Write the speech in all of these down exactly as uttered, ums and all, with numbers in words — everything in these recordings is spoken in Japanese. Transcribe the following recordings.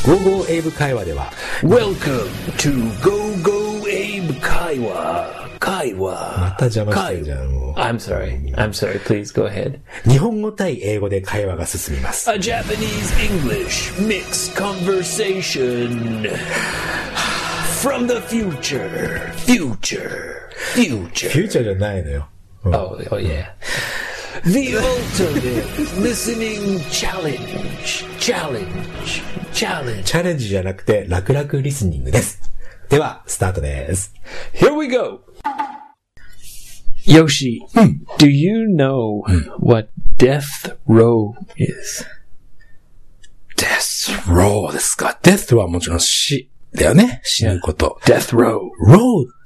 ゴーゴーエイブ会話では Welcome to Go Go Abe 会話会話また邪魔してるじゃんもう I'm sorry. I'm sorry. Please go ahead. 日本語対英語で会話が進みます。 A Japanese English mixed conversation from the future. Future. Future. フューチャーじゃないのよ。 Oh, oh yeah. The ultimate listening challenge. Challenge. Challenge. チャレンジじゃなくて楽々リスニングです。ではスタートです。 Here we go. Yoshi, do you know what death row is? death row ですか。death はもちろん死だよね。死ぬこと。 Death row. row って、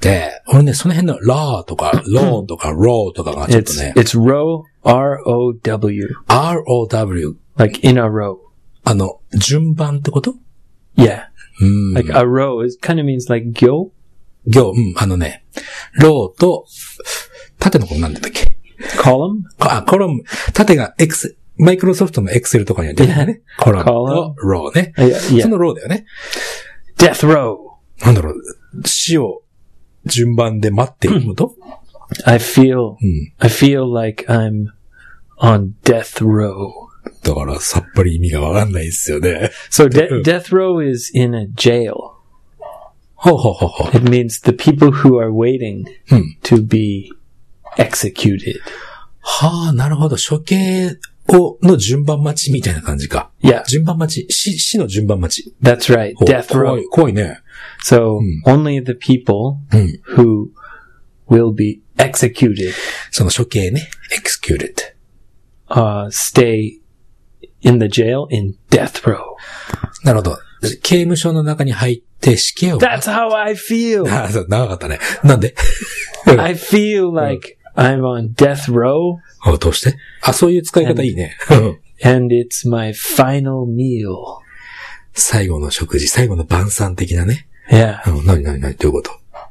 俺ね、その辺の law とか law とか row とかがちょっと It's ね。 it's row, R O W. R O W. Like in a row. あの、順番ってこと Yeah. うん。 Like a row is kind of means like gyo. 行、うん、あのね、row と、縦のことなんだったっけ Column? あ、コラム、縦が X、マイクロソフトの Excel とかには出てるね。コラムと row ね。 Yeah, yeah. その row だよね。 Death row. なんだろう、死を順番で待っていること、 I feel, うん、 I feel like I'm on death row. だからさっぱり意味がわかんないですよね。 So de- death row is in a jail. ほうほうほうほう。 It means the people who are waiting to be executed. はあ、なるほど。処刑を、の順番待ちみたいな感じか。 Yeah, 順番待ち。死、死の順番待ち。 that's right. ほう Death 怖 row. い、怖いね。 So only the people うん。 who will be executed その処刑ね。executed. uh, stay in the jail in death row. なるほど。刑務所の中に入って死刑を。 That's how I feel. ああ、そう、長かったね。なんで I feel like I'm on death row あ、どうしてあ、そういう使い方いいね。 and it's my final meal. 最後の食事、最後の晩餐的なね。 Yeah. うん、なになになにどういうこと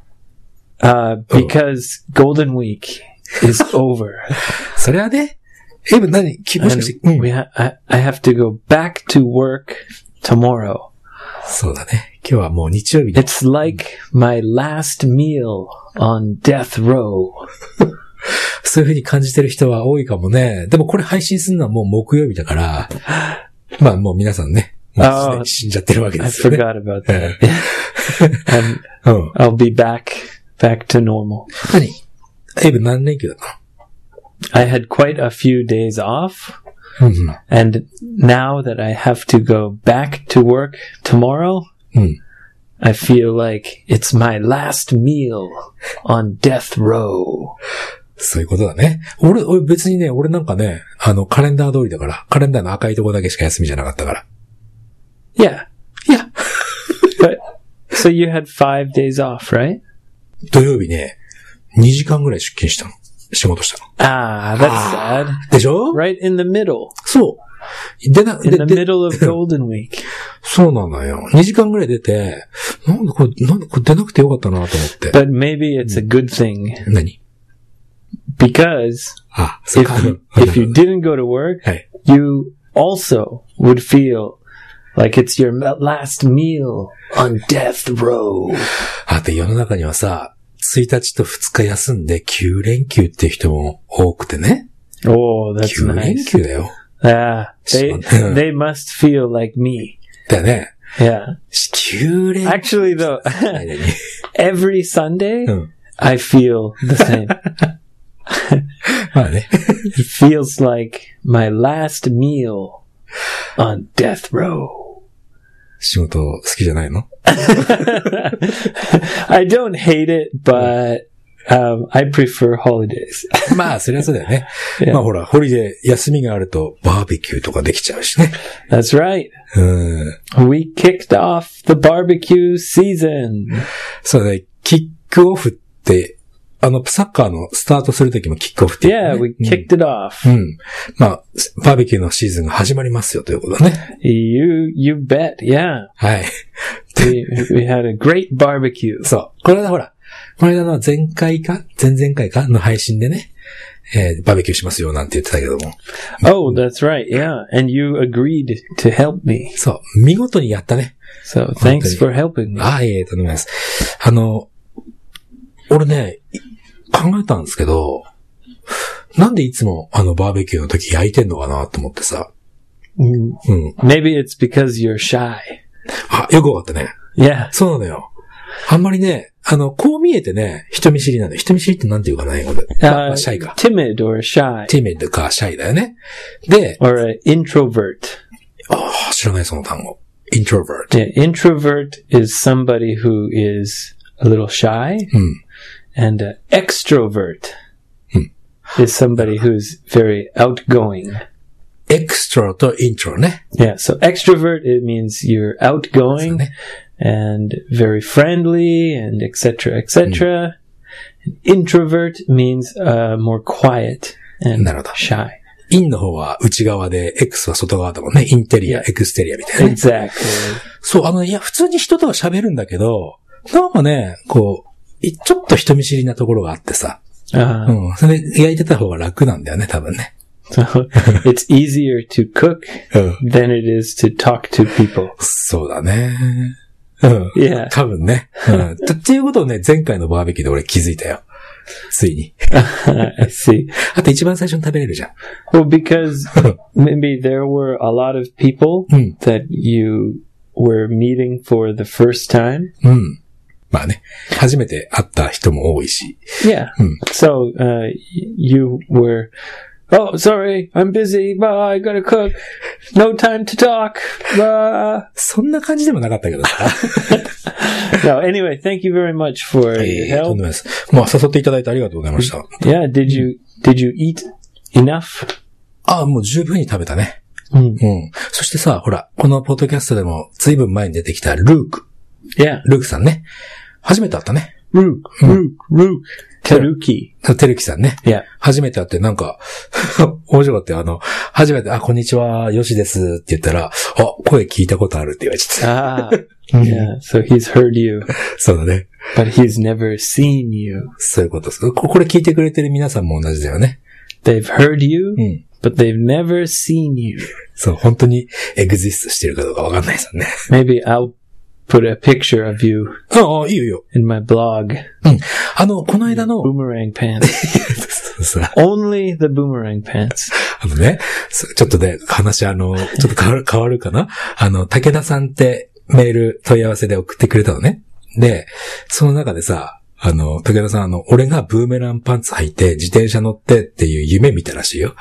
Uh, because Golden Week is over. それはね、え、何きもし And かして、うん we ha- I, I have to go back to work tomorrow. そうだね。今日はもう日曜日で。 It's like my last meal on death row. そういう風に感じてる人は多いかもね。でもこれ配信するのはもう木曜日だから、まあもう皆さんね、もうすでに死んじゃってるわけで I すよね。 forgot about that. and うん。 I'll be back, back to normal. 何エイブ何連休だった I had quite a few days off. のうん And now that I have to go back to work tomorrow, うん。うん。 I feel like it's my last meal on death row. そういうことだね。俺、俺別にね、俺なんかね、あの、カレンダー通りだから、カレンダーの赤いとこだけしか休みじゃなかったから。 Yeah. いや、 But, so you had five days off, right? 土曜日ね、にじかんぐらい出勤したの。仕事したの。 Ah, that's sad. でしょ Right in the middle. そう。でな、 In で the で middle of Golden Week. そうなのよ。にじかんぐらい出て、なんでこれ、なんでこれ出なくてよかったなと思って。 But maybe it's a good thing. 何 Because あ、そっ if か。 you, if you didn't go to work, はい。 you also would feel like it's your last meal on death row. あと世の中にはさ、ついたちとふつか休んできゅう連休っていう人も多くてね。 Oh, that's きゅう連 nice. 休だよ。 Ah, they, they must feel like me. だよね。 Yeah. きゅう連休。 Actually though, 何々 every Sunday, うん。 I feel the same. まあね。 It feels like my last meal on death row. 仕事好きじゃないの I don't hate it, but um, I prefer holidays. まあ、そりゃそうだよね。 Yeah. まあほら、ホリデー、休みがあるとバーベキューとかできちゃうしね。 That's right. うん。 We kicked off the barbecue season. そうね、キックオフって、あの、サッカーのスタートするときもキックオフって言う Yeah, よね、 we kicked it off. うん。うん。まあ、バーベキューのシーズンが始まりますよということだね。 You, you bet. Yeah. はい。 We, we had a great barbecue. そう。これはほら、この間の前回か前々回かの配信でね、えー、バーベキューしますよなんて言ってたけども。 Oh, that's right. Yeah. And you agreed to help me. そう。見事にやったね。 So, thanks for helping me. ああ、いえいえ、とんでもないです。あの、俺ね、考えたんですけど、なんでいつもあのバーベキューの時焼いてんのかなと思ってさ。 Mm. うん。 Maybe it's because you're shy. あ、よくわかったね。 Yeah. そうなのよ。あんまりね、あの、こう見えてね、人見知りなのよ。人見知りってなんて言うかな、英語で。まあ、まあ、シャイか。 timid or shy. timid かシャイだよね。で、 or an introvert. ああ、知らないその単語。introvert. Yeah, introvert is somebody who is a little shy. うん。 And uh, extrovert うん。 is somebody who's very outgoing. extra と intro ね。 Yeah, so extrovert, it means you're outgoing ね。 and very friendly and et cetera, et cetera. Introvert means uh, more quiet and なるほど。 shy. インの方は内側で、X は外側だもんね。インテリア、エクステリアみたいな、ね。 Exactly. そう、あの、いや、普通に人とは喋るんだけど、なんかね、こう、ちょっと人見知りなところがあってさ。 Uh, うん。それで焼いてた方が楽なんだよね、多分ね。 So it's easier to cook うん。 than it is to talk to people. そうだね。うん。 Yeah. 多分ね。うん。っていうことをね、前回のバーベキューで俺気づいたよ。ついに。 I see. あと一番最初に食べれるじゃん。 Well, because maybe there were a lot of people うん。 that you were meeting for the first time. うん。まあね。初めて会った人も多いし。 Yeah. うん。 So, uh, y- you were, oh, sorry, I'm busy. Bye, I gotta cook. No time to talk. Bye. そんな感じでもなかったけどさ。 No, anyway, thank you very much for え your ー、とん help. でもないです。まあ、誘っていただいてありがとうございました。 Yeah, did you, did you eat enough? ああ、もう十分に食べたね。 Mm. うん。そしてさ、ほら、このポッドキャストでも随分前に出てきたルーク。 Yeah. ルークさんね。初めて会ったね。 Rook, Rook, Rook. Teruki. テルキさんね。 Yeah. 初めて会ってなんか、面白かったよ。あの、初めて、あ、こんにちは、よしですって言ったら、あ、声聞いたことあるって言われちゃった。 Ah, yeah. So he's heard you, そうだね。 but he's never seen you. そういうことです。ここれ聞いてくれてる皆さんも同じだよね。 They've heard you, うん。 but they've never seen you. そう、本当にエグジストしてるかどうかわかんないですよね。 Maybe I'll put a picture of you ああ、いいよいいよ。 in my blog. うん。あの、この間の、 Boomerang pants. さ、 Only the boomerang pants. あのね、そうちょっとね、話あの、ちょっと変わる、変わるかなあの、武田さんってメール問い合わせで送ってくれたのね。で、その中でさ、あの、武田さんあの、俺がブーメランパンツ履いて自転車乗ってっていう夢見たらしいよ。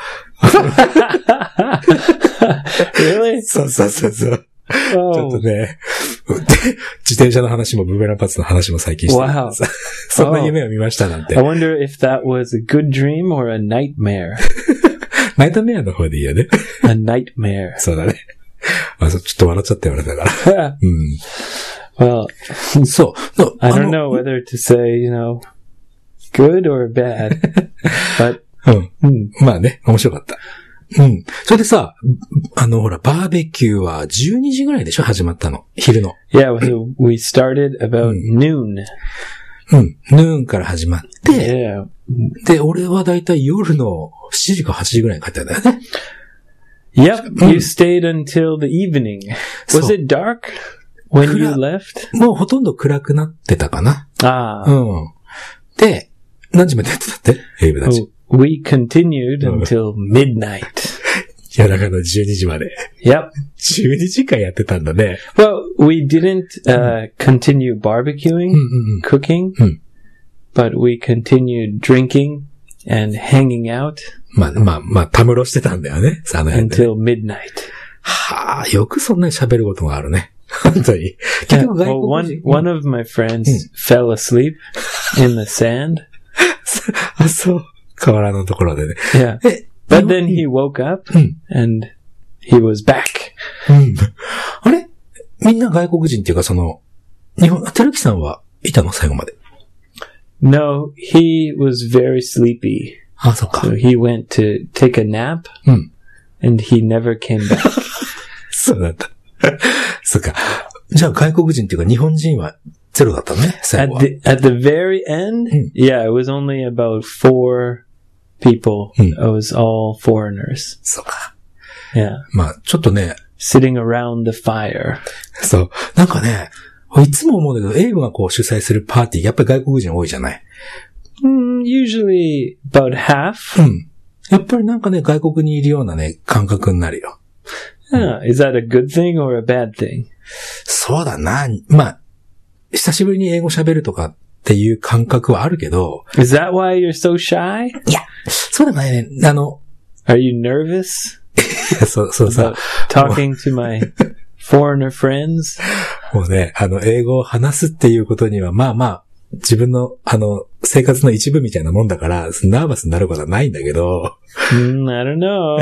Really? そうそうそうそう。ちょっ Oh, とね、自転車の話もブーメランパンツの話も最近してるからさ、そんな夢を見ましたなんて。 I wonder if that was a good dream or a nightmare. ナイトメアの方でいいよね。 A nightmare. そうだね。あ、そうちょっと笑っちゃったよね、だから。うん。 Well, そう。の I あ don't の know whether to say, you know, good or bad, but うん。 hmm, まあね、面白かった。うん。それでさ、あの、ほら、バーベキューはじゅうにじぐらいでしょ始まったの。昼の。 yeah, so we started about noon. うん。ヌーンから始まって、 Yeah. で、俺はだいたい夜のしちじかはちじぐらいに帰ったんだよね。 Yep, you stayed until the evening. Was So- it dark when you Kura- left? もうほとんど暗くなってたかな。 Ah, うん。で、何時までやってたってエイブたち。 oh, we continued Oh. until midnight. 夜中のじゅうにじまで。 Yep. じゅうにじかんやってたんだね。 Well, we didn't uh, continue barbecuing, うんうんうん。 cooking, Hmm. but we continued drinking and hanging out まあまあまあ、たむろしてたんだよね。あの辺でね。 until midnight. はあ、よくそんなに喋ることがあるね。本当に。結 Yeah, 局外 well, 国 one 人。 one of my friends fell asleep in the sand. あ、そう。河原のところでね。 Yeah, え、 but then he woke up うん。 and he was back. うん。あれみんな外国人っていうかその、日本、てるきさんはいたの最後まで。 No, he was very sleepy. あ、そっか。 So he went to take a nap うん。 and he never came back. そうだった。そっか。じゃあ外国人っていうか日本人はゼロだったのね、最 At 後は。 the at the very end, Hmm. yeah, it was only about four people. Hmm. It was all foreigners. そうか。 Yeah. まあ、ちょっとね、 sitting around the fire. そう。なんかね、いつも思うんだけど、エイブがこう主催するパーティー、やっぱり外国人多いじゃない。 Mm, usually about half. うん。やっぱりなんかね、外国にいるようなね、感覚になるよ。 Uh, is that a good thing or a bad thing? そうだな。まあ、久しぶりに英語喋るとかっていう感覚はあるけど。 Is that why you're so shy? いや、そうでもないね。あの、 Are you nervous? そう、そうさ。 Talking to my foreigner friends? もうね、あの、英語を話すっていうことには、まあまあ、自分の、あの、生活の一部みたいなもんだから、ナーバスになることはないんだけど。 Mm, I don't know.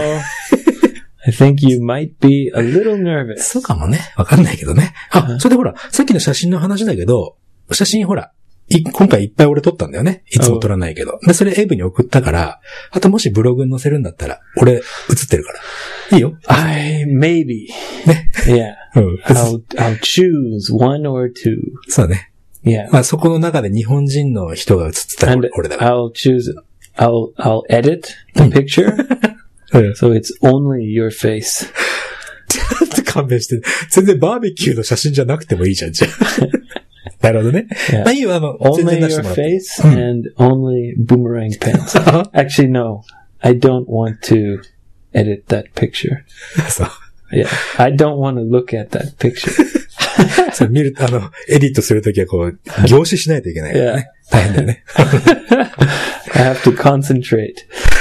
I think you might be a little nervous. そうかもね。わかんないけどね。あ、それでほら、さっきの写真の話だけど、写真ほら、い今回いっぱい俺撮ったんだよね。いつも撮らないけど。で、それエイブに送ったから、あともしブログに載せるんだったら、俺写ってるから。いいよ。 I, maybe. ね。 Yeah. うん。 I'll, I'll choose one or two. そうね。 Yeah. まあそこの中で日本人の人が写ってたら And 俺だから。 I'll choose, I'll, I'll edit the picture. うん。 So it's only your face. ちょっと勘弁して。全然バーベキューの写真じゃなくてもいいじゃん、じゃあ。なるほどね。 Yeah. まあいいよ、あの、全 Only 然出して your もらって。 face and only boomerang pants. Actually, no. I don't want to edit that picture. そう。 Yeah. I don't want to look at that picture. そう見る、あの、エディットするときはこう、凝視しないといけないからね。大変だよね。 I have to concentrate.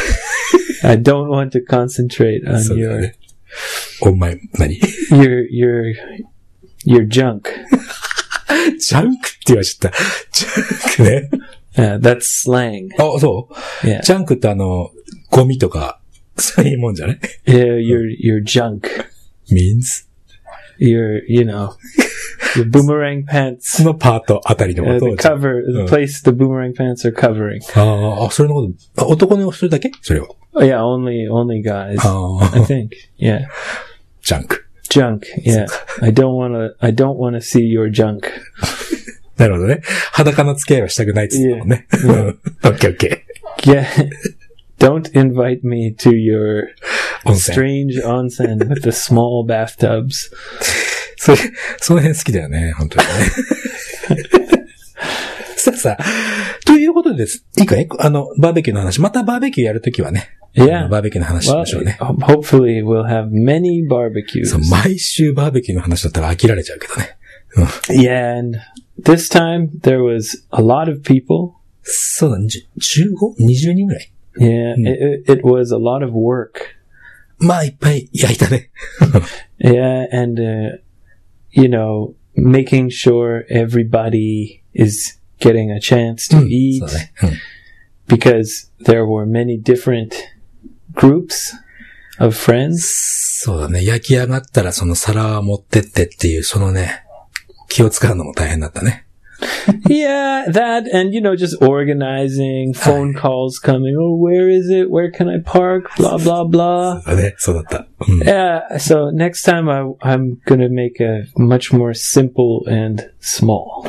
I don't want to concentrate on そうだよ your, ね。お前、何 your, your, your junk. ジャンクって言われちゃった。ジャンクね。 Yeah, that's slang. あ、そう Yeah. ジャンクってあの、ゴミとか、そういうもんじゃない Yeah, your, your junk. means? Your, you know, your boomerang pants. そのパートあたりのこ Uh, と the を。 cover, the place the boomerang pants are covering. ああ、それのこと、あ男のそれだけそれを。 Oh, yeah, only, only guys. あ I あ、 think. Yeah. ジャンク。 Junk. Yeah. I don't want to, I don't want to see your junk. なるほどね。裸の付き合いはしたくないって言ってたもんね。うん。オッケーオッケ Yeah. Don't invite me to your ー。温泉。 strange onsen with the small bathtubs. それ、その辺好きだよね、本当にね。さあさあ、ということでです。いいかいあの、バーベキューの話。またバーベキューやるときはね。 Yeah. バーベキューの話し Well, ましょうね。 hopefully we'll have many barbecues. そう、毎週バーベキューの話だったら飽きられちゃうけどね。 Yeah, and this time there was a lot of people. そうだ、じゅじゅうご?にじゅう 人ぐらい。 Yeah, it, it was a lot of work. まあ、いっぱい焼いたね。 Yeah, and, uh, you know, making sure everybody is getting a chance to うん eat そうね。うん because there were many different groups of friends. そうだね。焼き上がったらその皿持ってってっていう、そのね、気を使うのも大変だったね。 Yeah, that and, you know, just organizing, phone calls coming. Oh, where is it? Where can I park? Blah, blah, blah. そうだね。そうだった。うん、 Yeah, so next time I, I'm gonna make a much more simple and small.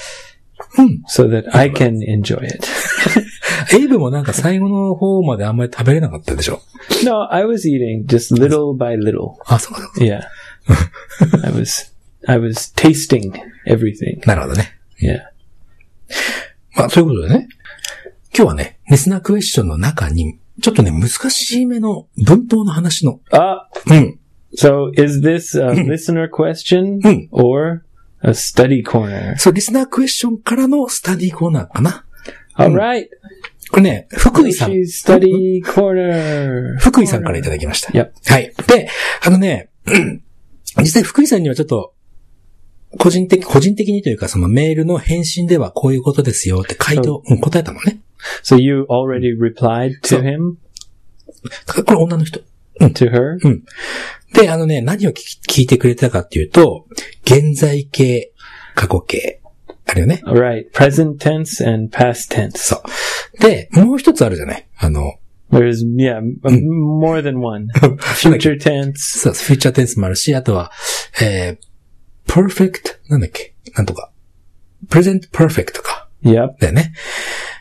So that I can enjoy it. エイブもなんか最後の方まであんまり食べれなかったでしょ No, I was eating just little by little. あ、そうだ。 Yeah. I was, I was tasting everything. なるほどね。 Yeah. まあ、そういうことでね。今日はね、リスナークエスチョンの中に、ちょっとね、難しめの文法の話の。 Ah, うん。 so is this a listener question Mm. or a study corner? そう、リスナークエスチョンからのスタディコーナーかな。 All right. これね、福井さん。 She's study corner. 福井さんからいただきました。 Yep. はい。で、あのね、実際福井さんにはちょっと、個人的、個人的にというか、そのメールの返信ではこういうことですよって回答、うん、答えたのね。 So you already replied to So- him? これ女の人。 To her? うん。で、あのね、何を聞き聞いてくれたかっていうと、現在形、過去形。あるよね。 All right. Present tense and past tense. そう。で、もう一つあるじゃないあの、 There's, yeah, m- more than one. Future tense. そう、フューチャーテンスもあるし、あとは、えー、perfect、なんだっけなんとか。present perfect か。 Yep. だよね。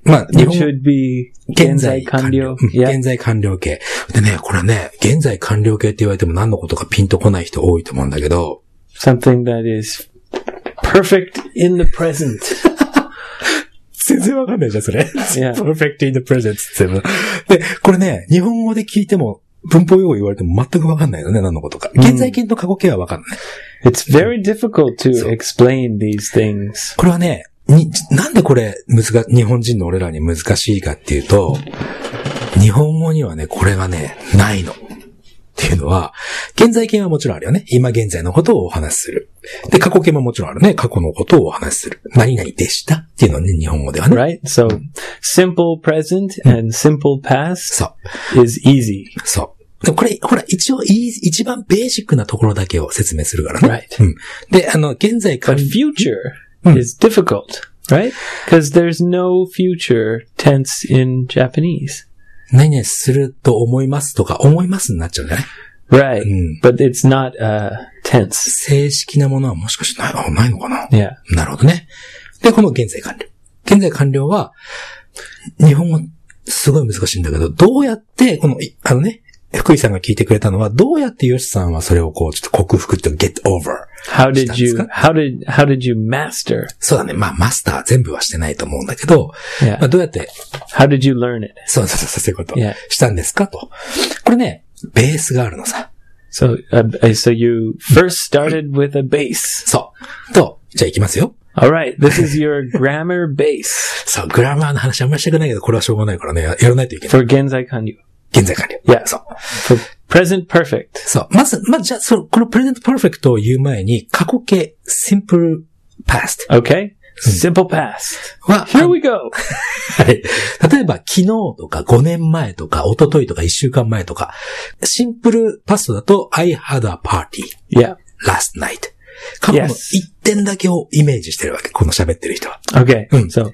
まあ、日 Which 本 would be 現在完了。 現在完了。 現在完了形。でね、これね、現在完了形って言われても何のことかピンとこない人多いと思うんだけど、 Something that is perfect in the present. 全然わかんないじゃん、それ。 Yeah. perfect in the present って言っても。で、これね、日本語で聞いても、文法用語言われても全くわかんないよね、何のことか。現在形と過去形はわかんない。 It's very difficult to explain these things. これはね、に、なんでこれ、難、日本人の俺らに難しいかっていうと、日本語にはね、これがね、ないの。っていうのは、現在形はもちろんあるよね。今現在のことをお話しする。で、過去形ももちろんあるね。過去のことをお話しする。何々でしたっていうのはね、日本語ではね。 Right? So, simple present and simple past そう。 is easy. そう。でこれ、ほら、一応、一番ベーシックなところだけを説明するからね。 Right. うん。で、あの、現在完 But future is difficult, right? Because there's no future tense in Japanese. 何々すると思いますとか、思いますになっちゃうんじゃない Right. うん。 But it's not uh, tense. 正式なものはもしかしてない、あ、ないのかな Yeah. なるほどね。で、この現在完了。現在完了は、日本語すごい難しいんだけど、どうやって、この、あのね、福井さんが聞いてくれたのは、どうやってヨシさんはそれをこう、ちょっと克服って get over. How did you, how did, how did you master? そうだね。まあ、マスター全部はしてないと思うんだけど、 Yeah. まあ、どうやって、 How did you learn it? そうそうそう、そういうこと Yeah. したんですかと。これね、ベースがあるのさ。 So, uh, so you first started with a base. そう。と、じゃあ行きますよ。 All right. This is your grammar base そう、グラマーの話あんまりしたくないけど、これはしょうがないからね、ややらないといけない。 for genzai kanryu. 現在完了。 Yeah. そう。 For present perfect. そう。まず、まず、じゃあ、その、このプレゼントパーフェクトを言う前に、過去形、simple past Okay. Simple past. は、 Here we go. はい。例えば、昨日とかごねんまえとか、一昨日とかいっしゅうかんまえとか、シンプルパストだと、I had a party Yeah. last night. 過去の Yes. 一点だけをイメージしてるわけ。この喋ってる人は。 Okay. Mm. So,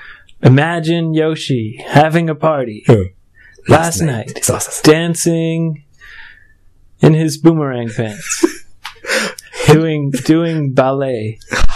imagine Yoshi having a party うん。 last night, そうそうそう。 dancing in his boomerang pants, doing doing ballet,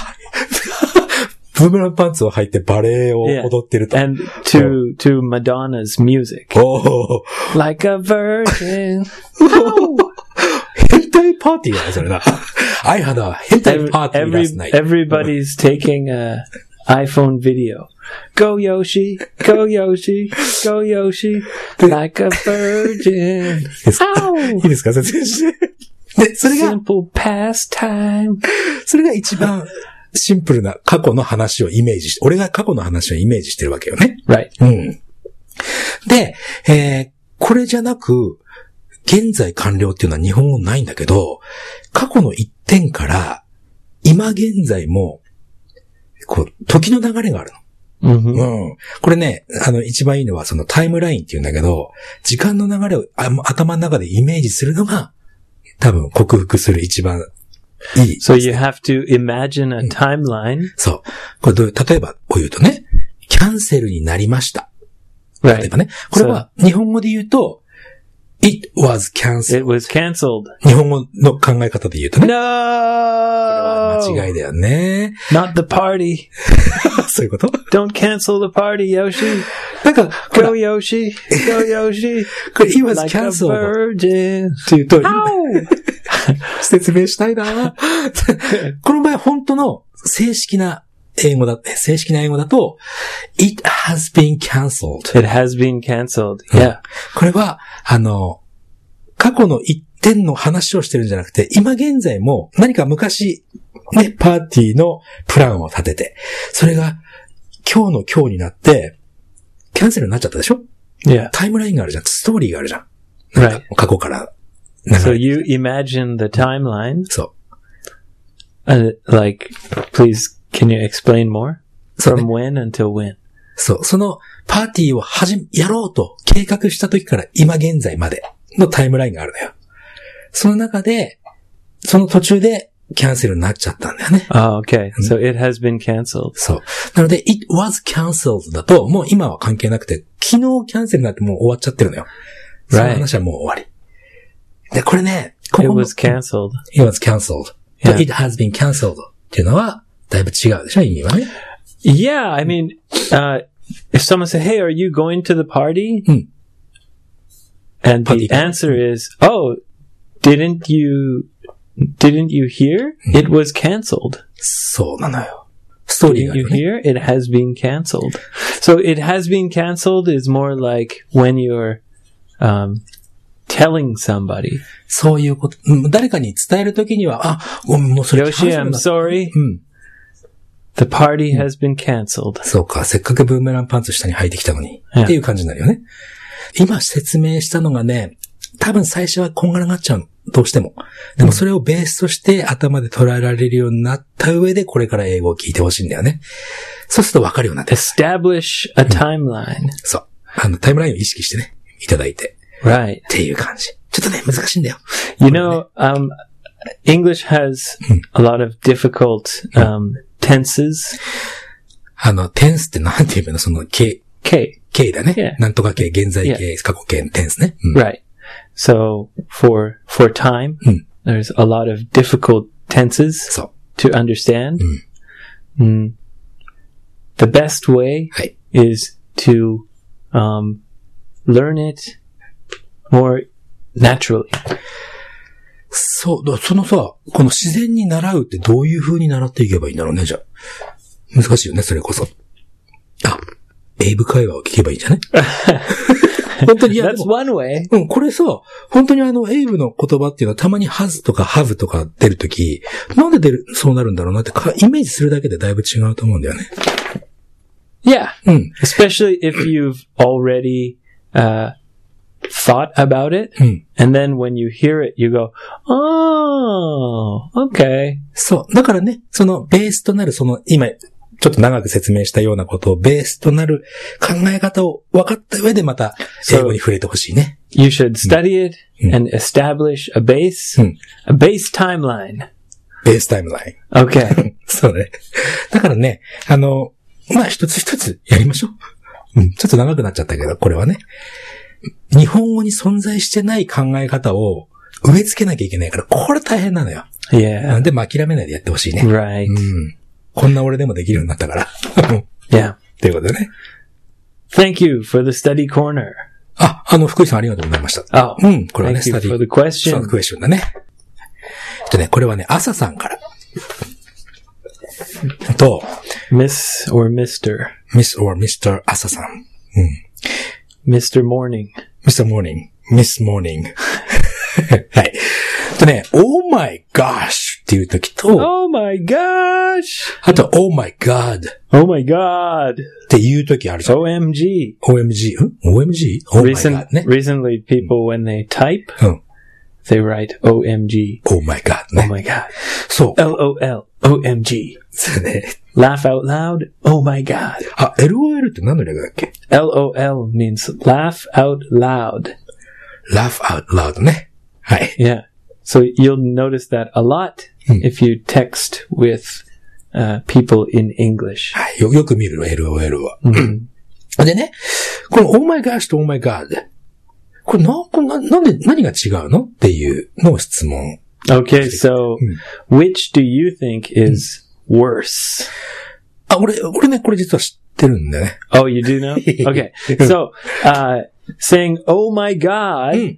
ブーメランパンツを履いてバレエを Yeah. 踊ってると。 and to to Madonna's music, おー。 like a virgin. 変態パーティーだね、それな。I had a 変態 Every, パーティー every, last night. everybody's taking a iPhone video. Go Yoshi, go Yoshi, go Yoshi, like a virgin. いいですか Ow! いいですか説明して。で、それが、 Simple pastime. それが一番シンプルな過去の話をイメージして、俺が過去の話をイメージしてるわけよね。 Right. うん。で、えー、これじゃなく、現在完了っていうのは日本語ないんだけど、過去の一点から、今現在も、こう、時の流れがあるの。 Mm-hmm. うん。これね、あの、一番いいのはそのタイムラインって言うんだけど、時間の流れをあ頭の中でイメージするのが、多分克服する一番いい。 So you have to imagine a timeline. そう。これどういう、例えばを言うとね、キャンセルになりました。例え Right. ばね。これは日本語で言うと、it was cancelled. It was canceled. 日本語の考え方で言うとね。 No! 間違いだよね。 Not the party. そういうこと Don't cancel the party, Yoshi. なんか、こ Go れ、 Yoshi. Go Yoshi. これ it was Like a cancelled. virgin. って言うと、 Ow! 説明したいなこの場合本当の正式な英語だ、正式な英語だと、it has been cancelled. It has been canceled. Yeah. これは、あの、過去の一点の話をしてるんじゃなくて、今現在も何か昔、ね、パーティーのプランを立てて、それが今日の今日になって、キャンセルになっちゃったでしょ Yeah. タイムラインがあるじゃん。ストーリーがあるじゃん。なんか Right. 過去から流れて So you imagine the timeline. そう。 Uh, like, please, can you explain more? そうね From when until when? そう。そのパーティーをはじめ、やろうと計画した時から今現在までのタイムラインがあるのよ。その中で、その途中でキャンセルになっちゃったんだよね。 Oh, okay. So it has been canceled. そう。なので、it was cancelled だと、もう今は関係なくて、昨日キャンセルになってもう終わっちゃってるのよ。その話はもう終わり。で、これね、こ It この was canceled. it was cancelled. Yeah. It has been cancelled っていうのは、だいぶ違うでしょ意味はね。 Yeah, I mean, uh, if someone says, hey, are you going to the party? Hmm. And Party. the answer is, oh, didn't you, didn't you hear? It was canceled. そうなのよ。ストーリー Didn't がある you よね。 hear? It has been canceled. So it has been canceled is more like when you're um, telling somebody, そういうこと。うん誰かに伝えるときには、あ、ごめん、もうそれ Yoshi, I'm だ sorry. うん。 The party has been canceled. そうか、せっかくブーメランパンツ下に履いてきたのに。 うんっていう感じになるよね。今説明したのがね、多分最初はこんがらがっちゃうの。どうしても。でもそれをベースとして頭で捉えられるようになった上でこれから英語を聞いてほしいんだよね。そうすると分かるようになってる。 Establish a timeline. そう。あの、タイムラインを意識してね、いただいて。 Right. っていう感じ。ちょっとね、難しいんだよ。 You know, um, English has a lot of difficult um, tenses. あの、テンスってなんて言うのその、形、 K. 形だね。 Yeah. なんとか形、現在形、過去形、テンスね。うん Right. So for for time, Hmm. there's a lot of difficult tenses そう。 to understand. Mm. The best way はい。 is to um, learn it more naturally. そう、だそのさ、この自然に習うってどういう風に習っていけばいいんだろうね、じゃあ。難しいよね、それこそ。あ、英語会話を聞けばいいんじゃない本当に、いや、で That's も one way. うん、これさ、本当にあの、英語の言葉っていうのはたまに has とか have とか出るとき、なんで出る、そうなるんだろうなってか、イメージするだけでだいぶ違うと思うんだよね。 Yeah. うん。 Especially if you've already uh, thought about it. うん。 And then when you hear it, you go, oh, okay. そう。だからね、そのベースとなる、その、今、ちょっと長く説明したようなことをベースとなる考え方を分かった上でまた英語に触れてほしいね。 You should study it and establish a base, Hmm. a base timeline. ベースタイムライン。 Okay. そうね。だからね、あの、まあ、一つ一つやりましょう。うん。ちょっと長くなっちゃったけど、これはね。日本語に存在してない考え方を植え付けなきゃいけないから、これ大変なのよ。 Yeah. でも諦めないでやってほしいね。 Right. うん。こんな俺でもできるようになったから。 Yeah. ということでね。 Thank you for the study corner. あ、あの、福井さんありがとうございました。 Oh, うん、これはね、 thank ス you タディ。 for the そう、 question. クエスチョンだね。えっとね、これはね、朝さんから。と、 Miss or Mister? Miss or ミスター 朝さん。 Mister Morning. ミスター Morning, Miss Morning. はい。とね、Oh my gosh っていう時と、 Oh my gosh! あと Oh my god っ Oh my god! ていう時あるじゃん。 O M G. オーエムジー? ん オーエムジー? Oh my Recent, god ね。 recently, people, when they type, うん。 they write O M G. Oh my god Oh ね。 my god. そう。 L O L. O M G. そうね。 Laugh out loud. Oh my god. あ、エルオーエル って何の略だっけ？ L O L means laugh out loud. Laugh out loud ね。はい。 Yeah. So you'll notice that a lot if you text with uh, people in English. はい。よ、よく見るの、エルオーエル は。でね、この Oh my gosh と Oh my god。これな、これな、なんで、何が違うのっていうのを質問。 Okay, so which do you think is worse? あ、俺、俺ね、これ実は知ってるんだよね。 Oh, you do know? Okay. So, uh, saying, oh my God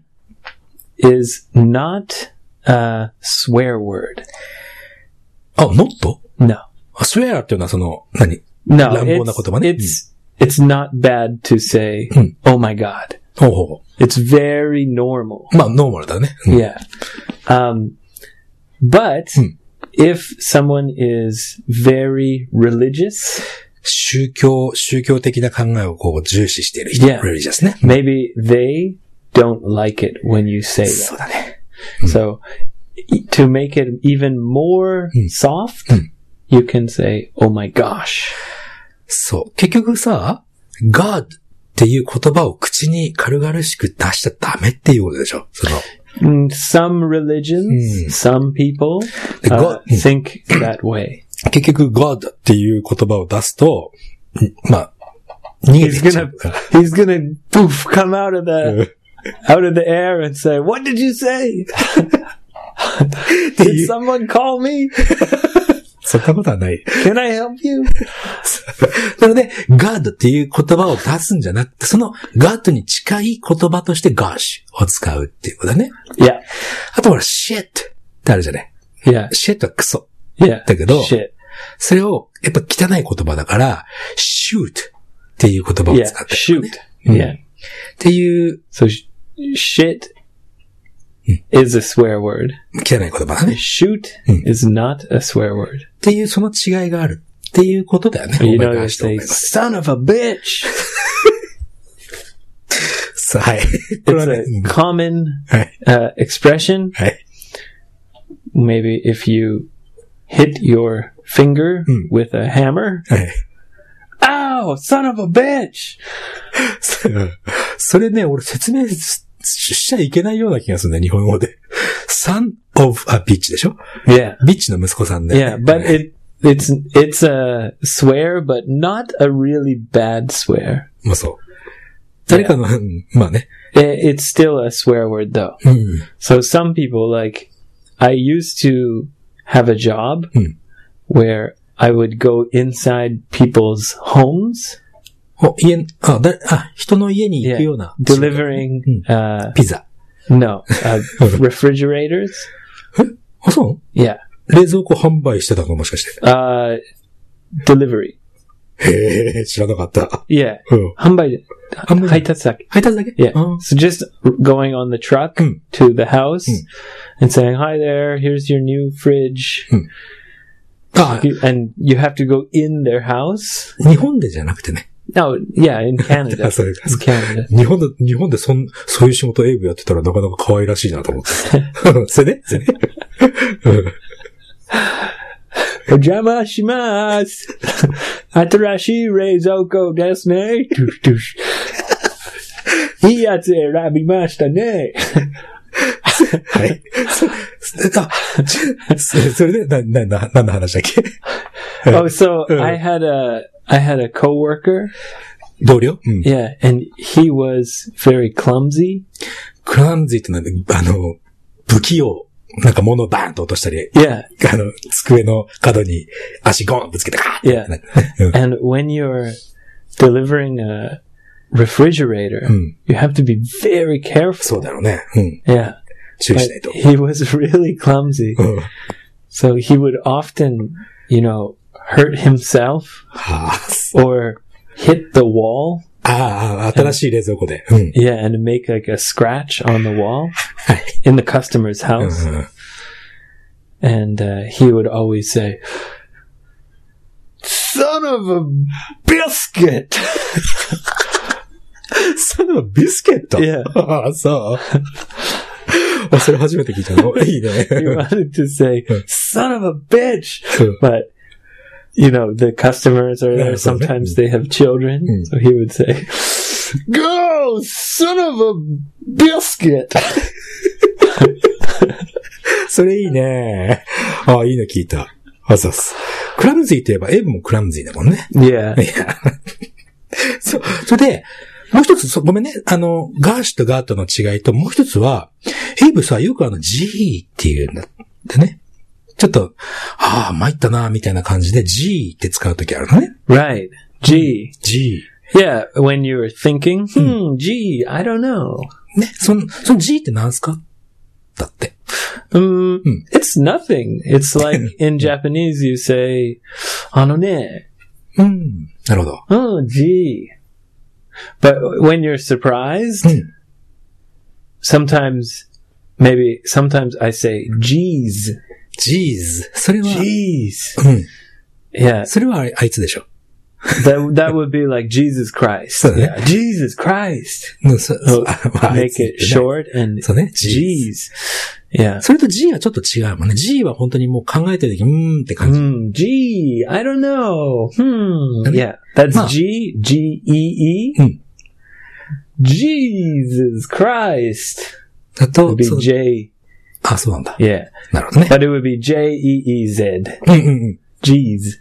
is not a swear word. あ、not? No. あ swear っていうのはその、何 No, 乱暴な言葉ね。 it's, it's, it's not bad to say, oh my God. ほうほ It's very normal. う。まあ、ノーマルだね。うん Yeah. Um, but if someone is very religious, 宗教、宗教的な考えをこう重視している人。 Yeah. religious ね。 maybe they don't like it when you say そう that. だね。 So e- to make it even more soft, you can say, oh my gosh. そう。結局さ、God っていう言葉を口に軽々しく出しちゃダメっていうことでしょ。その、 Mm, Some religions, some people The uh, God- think that way. 結局 God っていう言葉を出すと、んまあ、逃げて He's いっちゃ gonna, うから。 he's gonna poof, come out of the, out of the air and say, what did you say? Did someone call me? そんなことはない。 Can I help you? なので、God っていう言葉を出すんじゃなくて、その God に近い言葉として Gosh を使うっていうことだね。 Yeah. あとほら、shit ってあるじゃない。 Yeah. shit はクソ。 Yeah. だけど、 Shit. それを、やっぱ汚い言葉だから、shoot っていう言葉を Yeah. 使ってる、 Shoot. ね。うん、 Yeah. っていう、 So, sh- shit is a swear word. 汚い言葉だね。 Shoot is not a swear word. っていう、その違いがあるっていうことだよね。 You know, they say, son of a bitch. はい。これは It's ね、 a common はい。 uh, expression. はい。 Maybe if you hit your finger with a hammer. はい。 Ow, son of a bitch! それね、俺説明しちゃいけないような気がするんだよ、日本語で。son of a bitch でしょ？ Yeah. ビッチの息子さんで。 Yeah, but it it's it's a swear, but not a really bad swear. まあそう。誰かの、まあね。 It, it's still a swear word though. うん。 So some people, like, I used to have a job where I would go inside people's homes. お、家、あ、だ、あ、人の家に行くような。 delivering, uh, ピザ。 no, uh, refrigerators. え？あ、そう？ Yeah. 冷蔵庫販売してたのもしかして。 Uh, delivery. へえ、知らなかった。 Yeah. うん。 販売で。配達だけ。 配達だけ？ Yeah. あ So just going on the truck to the house and saying, hi there, here's your new fridge. あ、 And you have to go in their house. 日本でじゃなくてね。 No, yeah, in Canada. あ、そういうか。 In Canada. 日本で、日本でそん、そういう仕事エイブやってたらなかなか可愛らしいなと思って。それでそれでお邪魔します。新しい冷蔵庫ですね。トゥシトゥシ。いいやつ選びましたね。 はい。そ、それで、な、な、な、何の話だっけ？ Oh, so I had a, I had a coworker. 同僚？うん。 Yeah, and he was very clumsy. クラムズィってのは、あの、不器用。なんか物をバーンと落としたり。 Yeah. あの、机の角に足ゴーンぶつけてカーッ Yeah. And when you're delivering a refrigerator, you have to be very careful. そうだろうね。うん。 Yeah. 注意しない But と。 he was really clumsy. うん。 So he would often, you know, hurt himself はあ。 or hit the wall. ああ、新しい冷蔵庫で。うん。 Yeah, and make like a scratch on the wall はい。 in the customer's house. うん。 And uh, he would always say, son of a biscuit! son of a biscuit? Yeah. ああ、そう。あ、それ初めて聞いたの。いいね。 He wanted to say, son of a bitch! うん But, you know, the customers are there. Yeah, so that- Sometimes they have children. Mm. So he would say, go, son of a biscuit! それいいね。ああ、いいの聞いた。あ、そうっす。クラムズィーといえば、エイブもクラムズィーだもんね。 Yeah. いや。そう。それで、もう一つ、そごめんね。あの、ガーシュとガートの違いと、もう一つは、エイブさ、よくあの、G っていうんだってね。ちょっと、ああ、参ったな、みたいな感じで G って使うときあるのね。 Right. G. G。 Yeah, when you're thinking, hmm, G, I don't know. ね。その、その G って何すかだって。 Um, it's nothing. It's like in Japanese you say, あのね。 うん。なるほど。 Oh, G. But when you're surprised, sometimes, maybe, sometimes I say, G's. G's。それは、 G's. うん。 Yeah. それはあいあいつでしょ。 That, that would be like Jesus Christ. そうね。 Yeah. Jesus Christ. うん、そ、そ So あまああい make つ it short and そうね。 G's. Yeah. それと G はちょっと違うもんね。G は本当にもう考えてるとき、うーんって感じ。 Hmm, G, I don't know. Hmm. And- Yeah. That's Ma. G, G E E. Hmm. Jesus Christ. だ It と would、be そう J. あ、そうなんだ。 Yeah. なるほどね。 But it would be J E E Z. うんうんうん。 G's.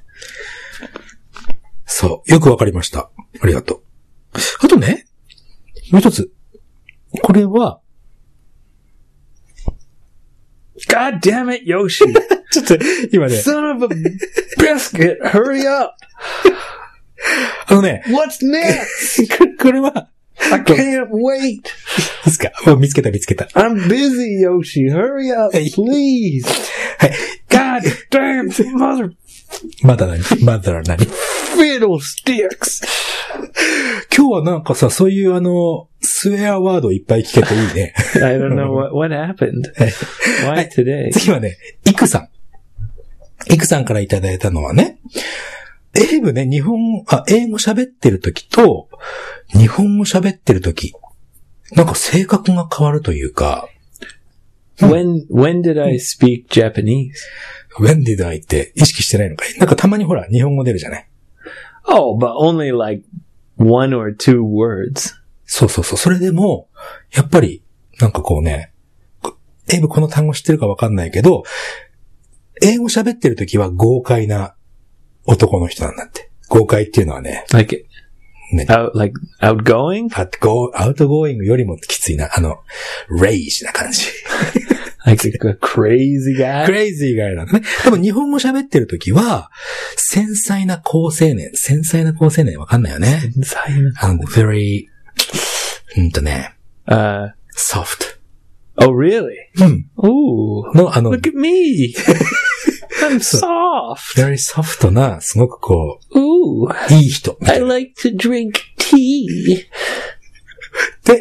そう。よくわかりました。ありがとう。あとね、もう一つ。これは、 God damn it, Yoshi. ちょっと、今ね、 Son of a biscuit, hurry up. あのね、 What's next? これこれは、 I can't wait. いいですか？もう見つけた見つけた。 I'm busy, Yoshi. Hurry up, please. はい。 God damn mother まだ何まだ何 fiddlesticks. 今日はなんかさ、そういうあの、スウェアワードいっぱい聞けていいね。 I don't know what, what happened. Why today? 次はね、イクさん。イクさんからいただいたのはね、英語ね、日本、あ、英語喋ってる時と、日本語喋ってる時、なんか性格が変わるというか、 When, when did I speak Japanese? when did I って意識してないのかい？なんかたまにほら、日本語出るじゃない？ Oh, but only like one or two words. そうそうそう。それでも、やっぱり、なんかこうね、英語この単語知ってるかわかんないけど、英語喋ってる時は豪快な男の人なんだって。豪快っていうのはね、 Like, ね out, like outgoing? アウトゴー、アウトゴーイングよりもきついな、あの、レイジな感じ。 Like a crazy guy? クレイジーガイなんだね。でも日本語喋ってる時は、繊細な好青年。繊細な好青年わかんないよね。あの、very, うんとね、 Uh, soft. oh really? うん。 Ooh. の、あの、 Look at me. I'm soft. very soft な、すごくこ Ooh. う、いい人。 I like to drink tea. で、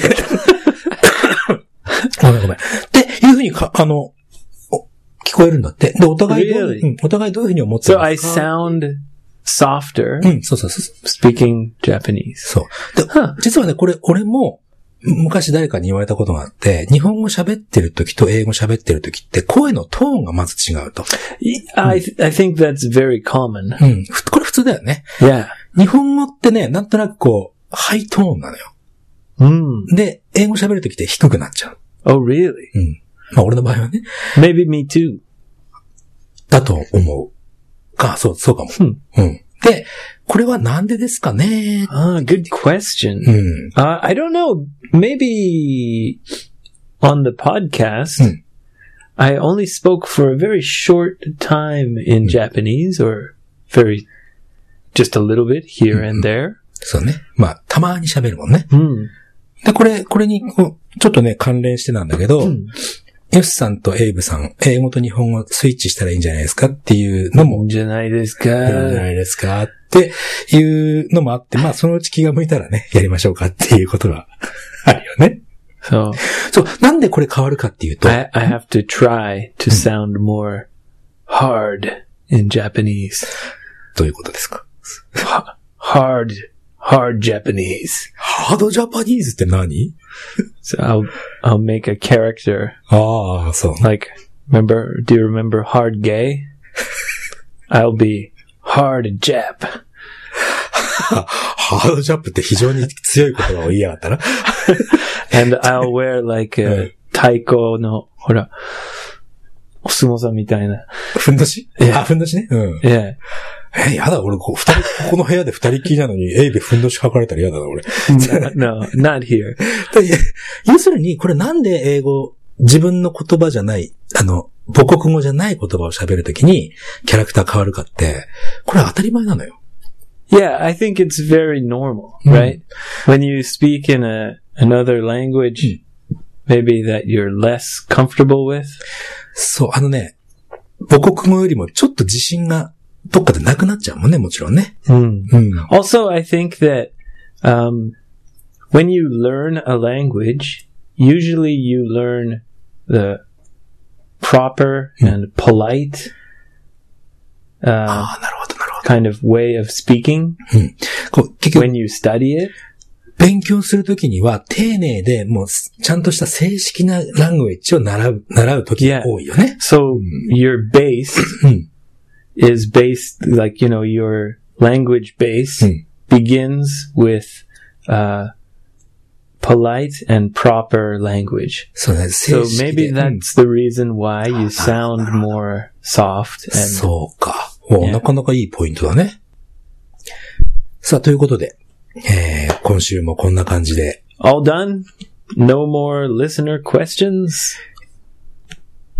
ごめんごめん。っていうふうにか、あの、聞こえるんだって。で、お互いどう、 Really? うん、お互いどういうふうに思ってる So ん I ですか？ sound softer うん、そうそうそう。 speaking Japanese. そう。で、 Huh. 実はね、これ、俺も、昔誰かに言われたことがあって、日本語喋ってる時と英語喋ってる時って声のトーンがまず違うと。 I, th- I think that's very common. うん。ふこれ普通だよね。 Yeah. 日本語ってね、なんとなくこう、ハイトーンなのよ。 Mm. で、英語喋る時って低くなっちゃう。 Oh really? うん。まあ俺の場合はね、 Maybe me too. だと思う。あ、そう、そうかも。 Hmm. うん。で、これはなんでですかね？ Ah, good question. うん。 Uh, I don't know. Maybe on the podcast, Hmm. I only spoke for a very short time in Japanese, or very, just a little bit here and there. そうね。まあ、たまに喋るもんね。 Hmm. で、これ、これにこう、ちょっとね、関連してなんだけど、ヨシさんとエイブさん、英語と日本語スイッチしたらいいんじゃないですかっていうのも、 じゃないですか。 いいんじゃないですかっていうのもあって、まあ、そのうち気が向いたらね、やりましょうかっていうことがあるよね。 So そう、なんでこれ変わるかっていうと、 I, I have to try to sound more hard in Japanese. どういうことですか？ Hard, hard Japanese. ハードジャパニーズって何？ So I'll I'll make a character ああ、そう。 like remember. Do you remember Hard Gay? I'll be Hard Jap. ハードジャップって非常に強い言葉を言いやがったな。 And I'll wear like a 太鼓のほらお相撲さんみたいな。 ふんどし？ いやあ、ふんどしね。うん。 Yeah. え、やだ、俺、こう、二人、ここの部屋で二人きりなのに、エイベふんどし書かれたら嫌だな、俺。 No, not here. で要するに、これなんで英語、自分の言葉じゃない、あの、母国語じゃない言葉を喋るときに、キャラクター変わるかって、これは当たり前なのよ。 Yeah, I think it's very normal, right? When you speak in a another language, maybe that you're less comfortable with. そう、あのね、母国語よりもちょっと自信がどっかでなくなっちゃうもんね、もちろんね。 Mm. うん。 Also, I think that um, when you learn a language, usually you learn the proper and polite あ uh, あ、なるほど、なるほど。 kind of way of speaking こう結局、 when you study it. 勉強するときには、丁寧で、もう、ちゃんとした正式なラングエッジを習う、習うときが多いよね。 So your base うん。 is based, like, you know, your language base Hmm. begins with uh, polite and proper language. そうね、 So 正式 maybe で。うん that's the reason why you sound more soft and そうか。お、 Yeah. なかなかいいポイントだね。さあ、ということで、えー、今週もこんな感じで、 all done. No more listener questions.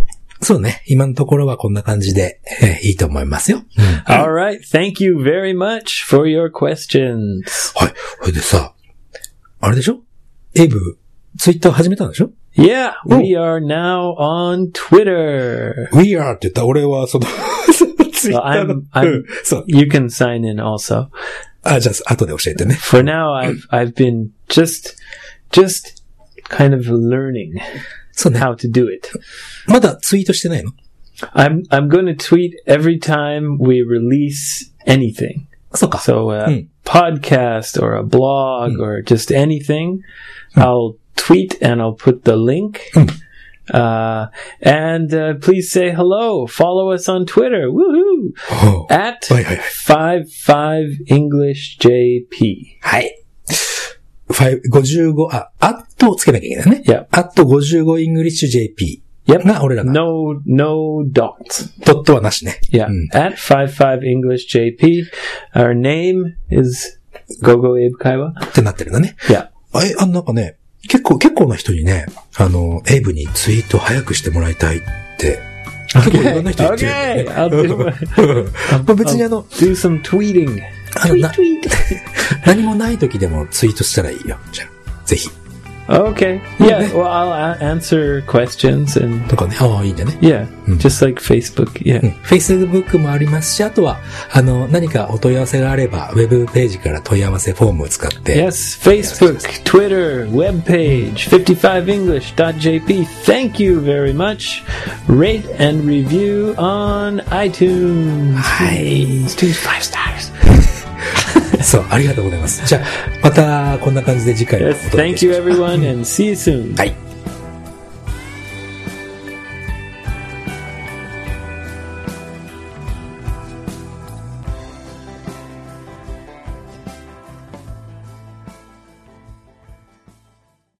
そうね。今のところはこんな感じで、えーいいと思いますよ。うん、 Alright, thank you very much for your questions. はい。これでさ、あれでしょ？エイブ、ツイッター始めたんでしょ？ Yeah, we are now on Twitter. We are って言ったら俺はその、ツイッターの、 I'm, I'm, うん、そう。 you can sign in also. あ、じゃあ、後で教えてね。 For now, I've, I've been just, just kind of learning そうね。 how to do it. まだツイートしてないの？ I'm, I'm going to tweet every time we release anything. そうか。 So a うん。 podcast or a blog or just anything, I'll tweet and I'll put the link. Uh, and uh, please say hello. Follow us on Twitter. Woohoo! ほう At はいはいはい。 fifty-five English J P. はい。ごじゅうご、あ、アットをつけなきゃいけないね。 Yep. アットごじゅうごイングリッシュ ジェーピー。 Yep. が俺らが。 No, no dots. ドットはなしね。 Yeah. うん。 At fifty-five English J P. Our name is Gogo Abe Kaiwa. ってなってるのね。 Yeah. あえ、あのなんかね、結構、結構な人にね、あの、エイブにツイート早くしてもらいたいって、結構いろんな人言ってる、ね。 Okay. I'll do, まあ別にあの、 do some tweeting. あのな何もない時でもツイートしたらいいよ。じゃあ、ぜひ。 Okay. Yeah. Well, I'll a- answer questions and とかね、ああ、いいんだね。 yeah, just like Facebook. Yeah. うん。Facebook もありますし、あとは、あの、何かお問い合わせがあれば、ウェブページから問い合わせフォームを使って。 Yes, Facebook, Twitter, webpage, fifty-five english dot j p. Thank you very much. Rate and review on iTunes. はい。 Two five stars. そう、ありがとうございます。じゃあ、またこんな感じで次回もお Yes, 届け thank し you ましょう。 everyone and see you soon. はい。